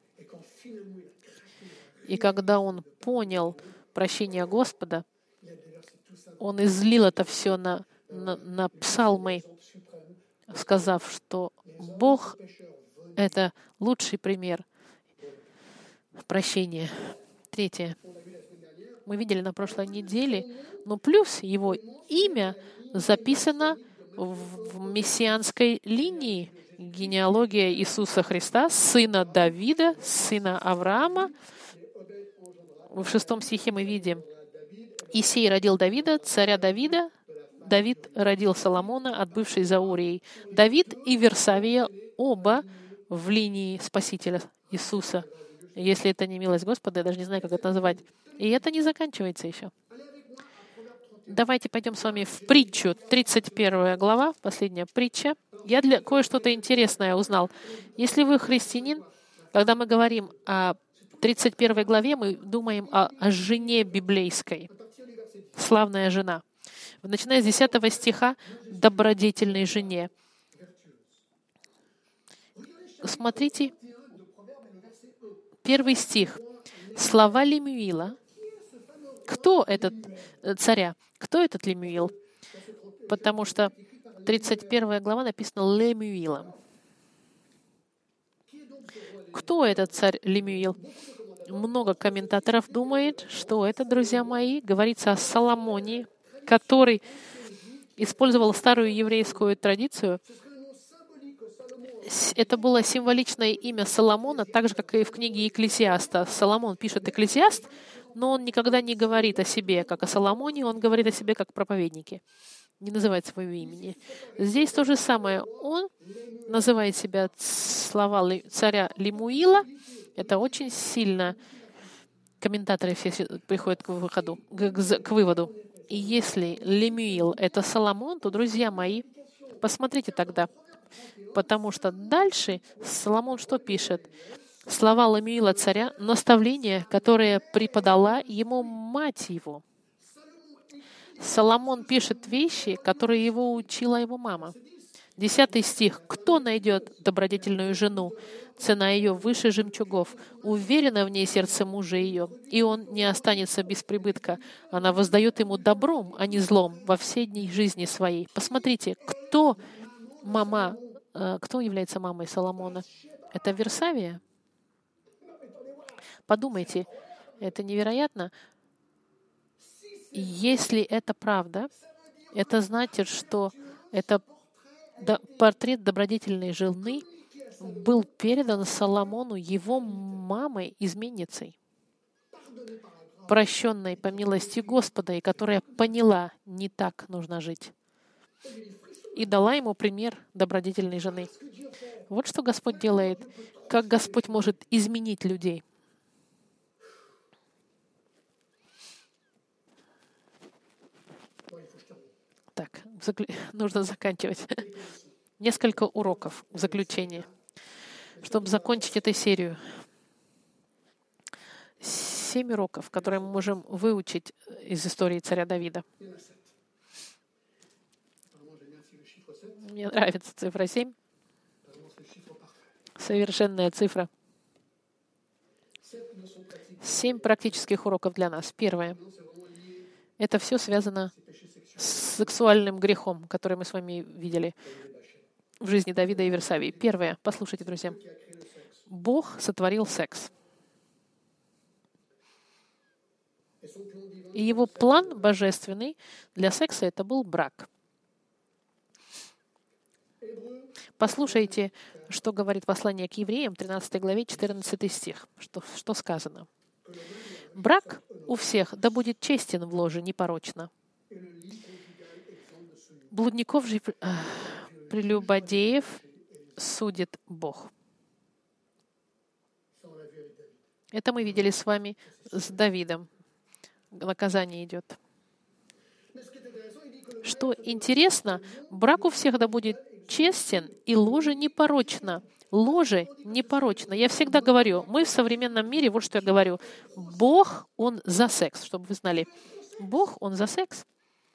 И когда он понял прощение Господа, он излил это все на псалмы, сказав, что Бог — это лучший пример прощения. Третье. Мы видели на прошлой неделе, но плюс его имя записано в мессианской линии. Генеалогия Иисуса Христа, сына Давида, сына Авраама. В 6 стихе мы видим: Исей родил Давида, царя Давида. Давид родил Соломона, отбывший за Урией. Давид и Версавия оба в линии Спасителя Иисуса. Если это не милость Господа, я даже не знаю, как это называть. И это не заканчивается еще. Давайте пойдем с вами в притчу, 31 глава, последняя притча. Я кое-что-то интересное узнал. Если вы христианин, когда мы говорим о 31 главе, мы думаем о жене библейской. Славная жена. Начиная с 10 стиха, добродетельной жене. Смотрите, 1 стих. Слова Лемуила. Кто этот царя? Кто этот Лемуил? Потому что 31 глава написана Лемуилом. Кто этот царь Лемуил? Много комментаторов думает, что это, друзья мои, говорится о Соломоне, который использовал старую еврейскую традицию. Это было символичное имя Соломона, так же, как и в книге Екклесиаста. Соломон пишет Екклесиаст, но он никогда не говорит о себе, как о Соломоне, он говорит о себе, как о проповеднике. Не называет своего имени. Здесь то же самое. Он называет себя слова царя Лемуила. Это очень сильно комментаторы все приходят к выводу. И если Лемуил — это Соломон, то, друзья мои, посмотрите тогда. Потому что дальше Соломон что пишет? Слова Лемуила царя, наставление, которое преподала ему мать его. Соломон пишет вещи, которые его учила его мама. 10 стих. «Кто найдет добродетельную жену? Цена ее выше жемчугов. Уверено в ней сердце мужа ее, и он не останется без прибытка. Она воздает ему добром, а не злом во все дни жизни своей». Посмотрите, кто является мамой Соломона? Это Версавия? Подумайте. Это невероятно. Если это правда, это значит, что это портрет добродетельной жены был передан Соломону его мамой-изменницей, прощенной по милости Господа, и которая поняла, не так нужно жить, и дала ему пример добродетельной жены. Вот что Господь делает, как Господь может изменить людей. Так, нужно заканчивать. Несколько уроков в заключение, чтобы закончить эту серию. 7 уроков, которые мы можем выучить из истории царя Давида. Мне нравится цифра 7. Совершенная цифра. 7 практических уроков для нас. Первое. Это все связано с сексуальным грехом, который мы с вами видели в жизни Давида и Версавии. Первое. Послушайте, друзья. Бог сотворил секс. И его план божественный для секса — это был брак. Послушайте, что говорит послание к евреям, 13 главе, 14 стих. Что сказано? «Брак у всех да будет честен в ложе, непорочно. Блудников же прелюбодеев судит Бог». Это мы видели с вами с Давидом. Наказание идет. Что интересно, брак у всех да будет честен, и ложе непорочно. Ложе непорочно. Я всегда говорю, мы в современном мире, вот что я говорю, Бог, Он за секс, чтобы вы знали. Бог, Он за секс.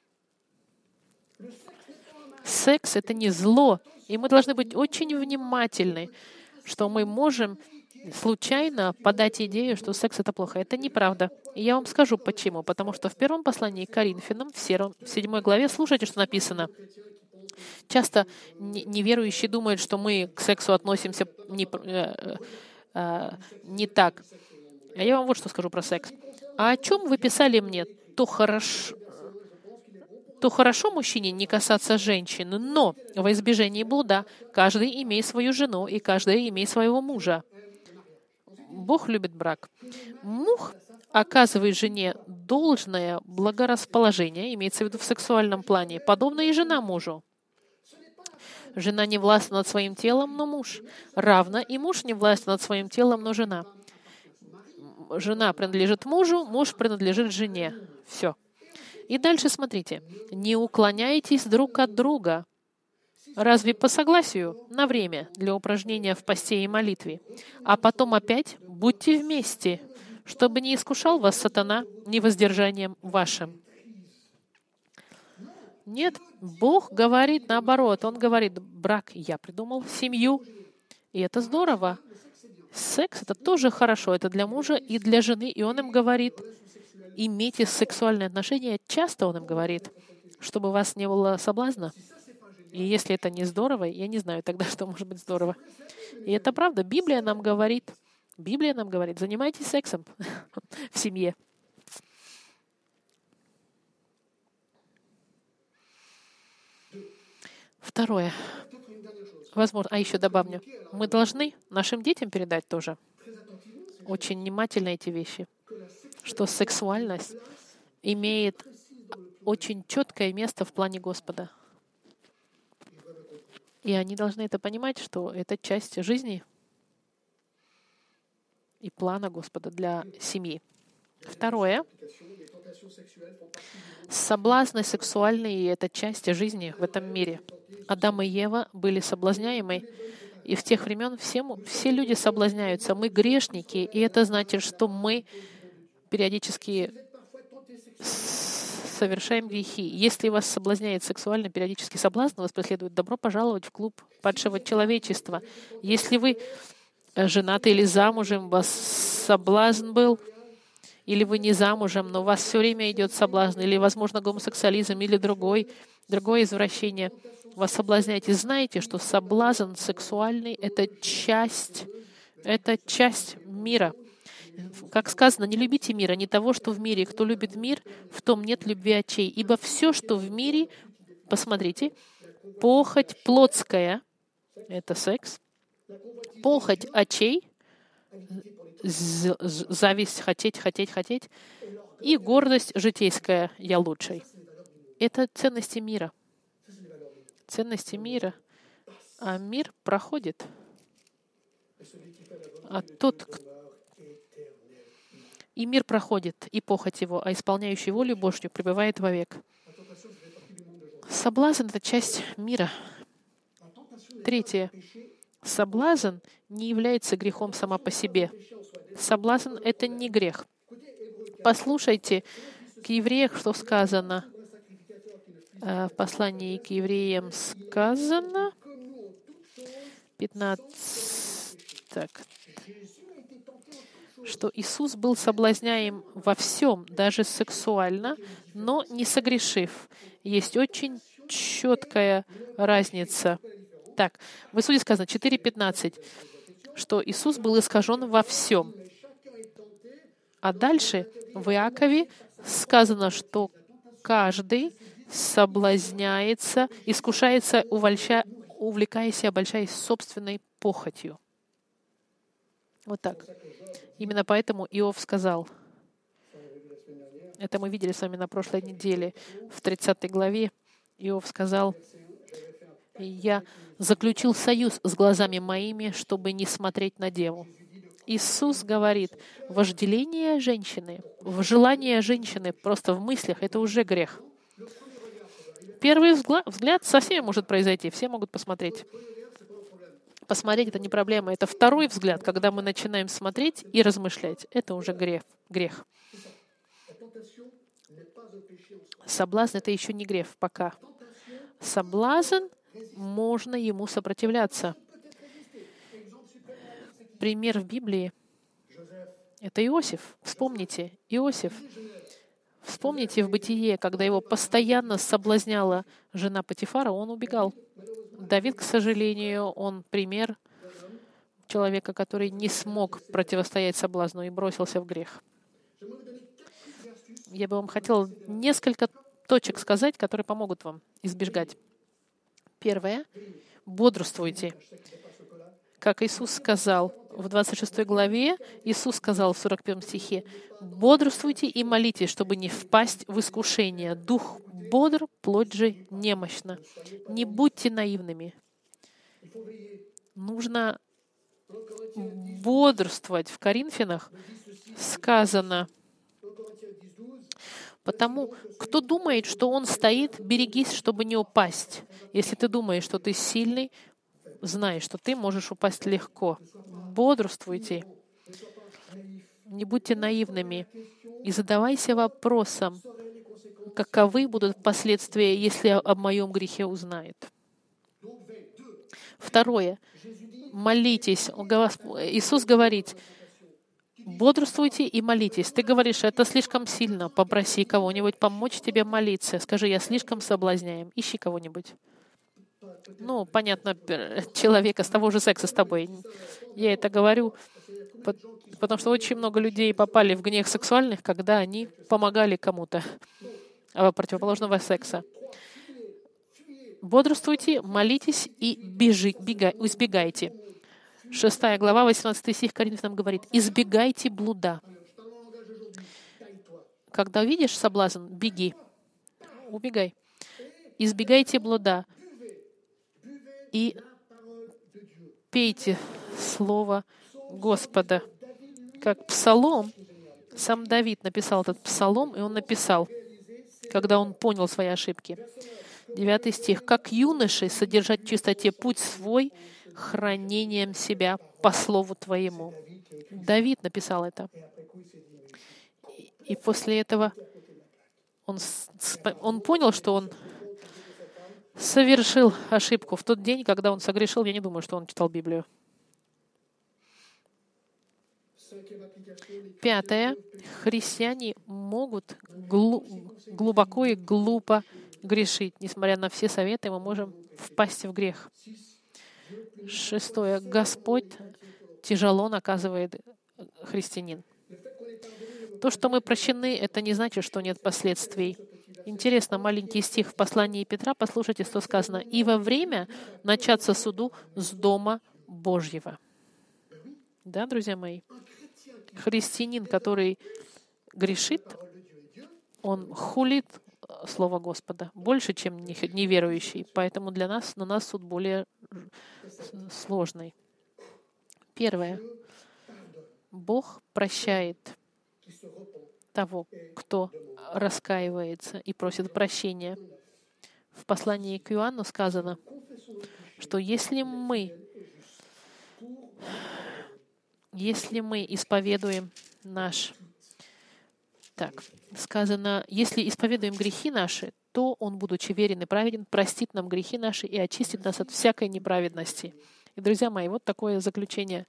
Секс — это не зло, и мы должны быть очень внимательны, что мы можем случайно подать идею, что секс — это плохо. Это неправда. И я вам скажу, почему. Потому что в первом послании к Коринфянам, в 7 главе, слушайте, что написано. Часто неверующие думают, что мы к сексу относимся не так. А я вам вот что скажу про секс. А о чем вы писали мне? То хорошо мужчине не касаться женщин, но во избежание блуда каждый имеет свою жену, и каждый имеет своего мужа. Бог любит брак. Муж оказывает жене должное благорасположение, имеется в виду в сексуальном плане, подобно и жена мужу. Жена не властна над своим телом, но муж. Равно и муж не властен над своим телом, но жена. Жена принадлежит мужу, муж принадлежит жене. Все. И дальше смотрите. Не уклоняйтесь друг от друга. Разве по согласию на время для упражнения в посте и молитве? А потом опять будьте вместе, чтобы не искушал вас сатана невоздержанием вашим. Нет, Бог говорит наоборот. Он говорит, брак я придумал, семью. И это здорово. Секс — это тоже хорошо. Это для мужа и для жены. И он им говорит, имейте сексуальные отношения. Часто он им говорит, чтобы у вас не было соблазна. И если это не здорово, я не знаю тогда, что может быть здорово. И это правда. Библия нам говорит, занимайтесь сексом в семье. Второе. Возможно, еще добавлю. Мы должны нашим детям передать тоже очень внимательно эти вещи, что сексуальность имеет очень четкое место в плане Господа. И они должны это понимать, что это часть жизни и плана Господа для семьи. Второе. Соблазны сексуальные — это часть жизни в этом мире. Адам и Ева были соблазняемы, и в тех времен все люди соблазняются. Мы грешники, и это значит, что мы периодически совершаем грехи. Если вас соблазняет сексуально периодический соблазн, вас преследует, добро пожаловать в клуб падшего человечества. Если вы женаты или замужем, у вас соблазн был, или вы не замужем, но у вас все время идет соблазн, или, возможно, гомосексуализм, или другое извращение, вас соблазняете. Знаете, что соблазн сексуальный — это часть мира. Как сказано, не любите мира, не того, что в мире. Кто любит мир, в том нет любви очей. Ибо все, что в мире, посмотрите, похоть плотская, это секс, похоть очей, зависть, хотеть, и гордость житейская, я лучший. Это ценности мира. Ценности мира. А мир проходит. И мир проходит, и похоть его, а исполняющий волю Божью пребывает вовек. Соблазн — это часть мира. Третье. Соблазн не является грехом сама по себе. Соблазн — это не грех. Послушайте, к евреям что сказано? В послании к евреям сказано, 15, что Иисус был соблазняем во всем, даже сексуально, но не согрешив. Есть очень четкая разница. Так, в Иисусе сказано 4:15, что Иисус был искажен во всем. А дальше в Иакове сказано, что каждый соблазняется, искушается, увлекаясь и обольщаясь собственной похотью. Вот так. Именно поэтому Иов сказал, это мы видели с вами на прошлой неделе, в 30 главе, Иов сказал, «Я заключил союз с глазами моими, чтобы не смотреть на деву». Иисус говорит, вожделение женщины, желание женщины просто в мыслях — это уже грех. Первый взгляд со всеми может произойти, все могут посмотреть. Посмотреть — это не проблема. Это второй взгляд, когда мы начинаем смотреть и размышлять. Это уже грех. Соблазн — это еще не грех пока. Соблазн, можно ему сопротивляться. Пример в Библии — это Иосиф. Вспомните, Иосиф. Вспомните в Бытие, когда его постоянно соблазняла жена Потифара, он убегал. Давид, к сожалению, он пример человека, который не смог противостоять соблазну и бросился в грех. Я бы вам хотела несколько точек сказать, которые помогут вам избежать. Первое. Бодрствуйте. Как Иисус сказал в 26 главе, Иисус сказал в 41 стихе, «Бодрствуйте и молитесь, чтобы не впасть в искушение. Дух бодр, плоть же немощна. Не будьте наивными». Нужно бодрствовать. В Коринфянах сказано, потому кто думает, что он стоит, берегись, чтобы не упасть. Если ты думаешь, что ты сильный, знай, что ты можешь упасть легко. Бодрствуйте. Не будьте наивными. И задавайся вопросом, каковы будут последствия, если о моем грехе узнает. Второе. Молитесь. Иисус говорит, бодрствуйте и молитесь. Ты говоришь, это слишком сильно. Попроси кого-нибудь помочь тебе молиться. Скажи, я слишком соблазняем. Ищи кого-нибудь. Понятно, человека с того же секса с тобой. Я это говорю, потому что очень много людей попали в грех сексуальных, когда они помогали кому-то противоположного секса. Бодрствуйте, молитесь и избегайте. 6 глава, 18 стих Коринфянам говорит, избегайте блуда. Когда видишь соблазн, беги, убегай. Избегайте блуда. И пейте Слово Господа. Как псалом, сам Давид написал этот псалом, и он написал, когда он понял свои ошибки. 9 стих. «Как юноши содержать в чистоте путь свой, хранением себя по слову Твоему». Давид написал это. И после этого он понял, что он совершил ошибку. В тот день, когда он согрешил, я не думаю, что он читал Библию. 5. Христиане могут глубоко и глупо грешить. Несмотря на все советы, мы можем впасть в грех. 6. Господь тяжело наказывает христианин. То, что мы прощены, это не значит, что нет последствий. Интересно, маленький стих в послании Петра, послушайте, что сказано. «И во время начаться суду с Дома Божьего». Да, друзья мои? Христианин, который грешит, он хулит Слово Господа больше, чем неверующий. Поэтому для нас, на нас суд более сложный. Первое. Бог прощает того, кто раскаивается и просит прощения. В послании к Иоанну сказано, что если мы исповедуем сказано, если исповедуем грехи наши, то Он, будучи верен и праведен, простит нам грехи наши и очистит нас от всякой неправедности. И, друзья мои, вот такое заключение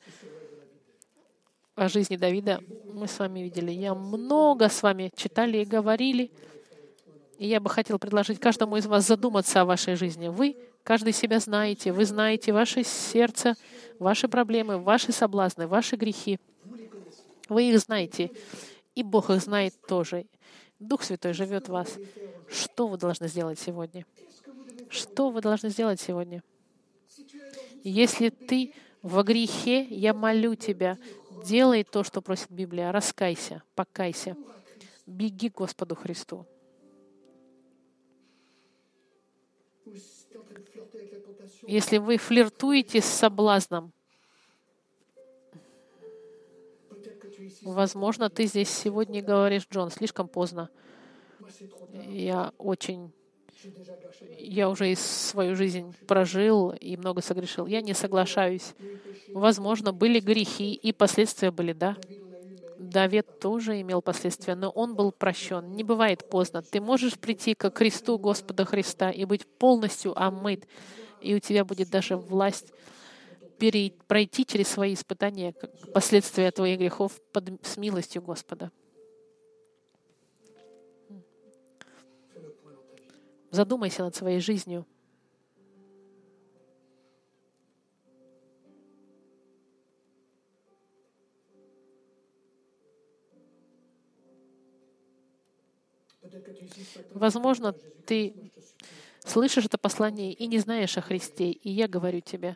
о жизни Давида мы с вами видели. Я много с вами читали и говорили, и я бы хотел предложить каждому из вас задуматься о вашей жизни. Вы, каждый себя знаете, вы знаете ваше сердце, ваши проблемы, ваши соблазны, ваши грехи. Вы их знаете, и Бог их знает тоже. Дух Святой живет в вас. Что вы должны сделать сегодня? Что вы должны сделать сегодня? Если ты во грехе, я молю тебя, делай то, что просит Библия. Раскайся, покайся. Беги к Господу Христу. Если вы флиртуете с соблазном, возможно, ты здесь сегодня говоришь, Джон, слишком поздно. Я уже свою жизнь прожил и много согрешил. Я не соглашаюсь. Возможно, были грехи, и последствия были, да. Давид тоже имел последствия, но он был прощен. Не бывает поздно. Ты можешь прийти ко кресту Господа Христа и быть полностью омыт, и у тебя будет даже власть пройти через свои испытания, последствия твоих грехов с милостью Господа. Задумайся над своей жизнью. Возможно, ты слышишь это послание и не знаешь о Христе, и я говорю тебе,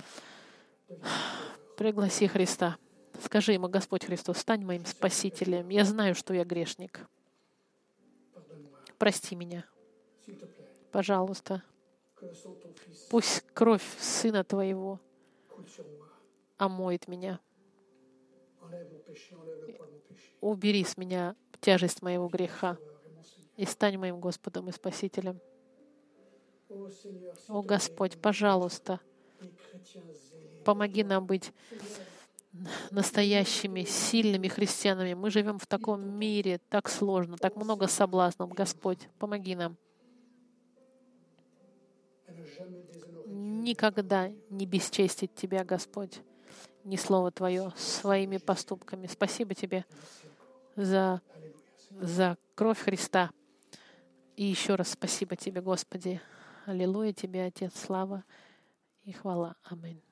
пригласи Христа. Скажи ему, Господь Христос, стань моим Спасителем. Я знаю, что я грешник. Прости меня. Пожалуйста. Пусть кровь Сына Твоего омоет меня. Убери с меня тяжесть моего греха и стань моим Господом и Спасителем. О Господь, пожалуйста, помоги нам быть настоящими, сильными христианами. Мы живем в таком мире, так сложно, так много соблазнов. Господь, помоги нам. Никогда не бесчестить Тебя, Господь, ни Слово Твое своими поступками. Спасибо Тебе за кровь Христа. И еще раз спасибо Тебе, Господи. Аллилуйя Тебе, Отец, слава и хвала. Аминь.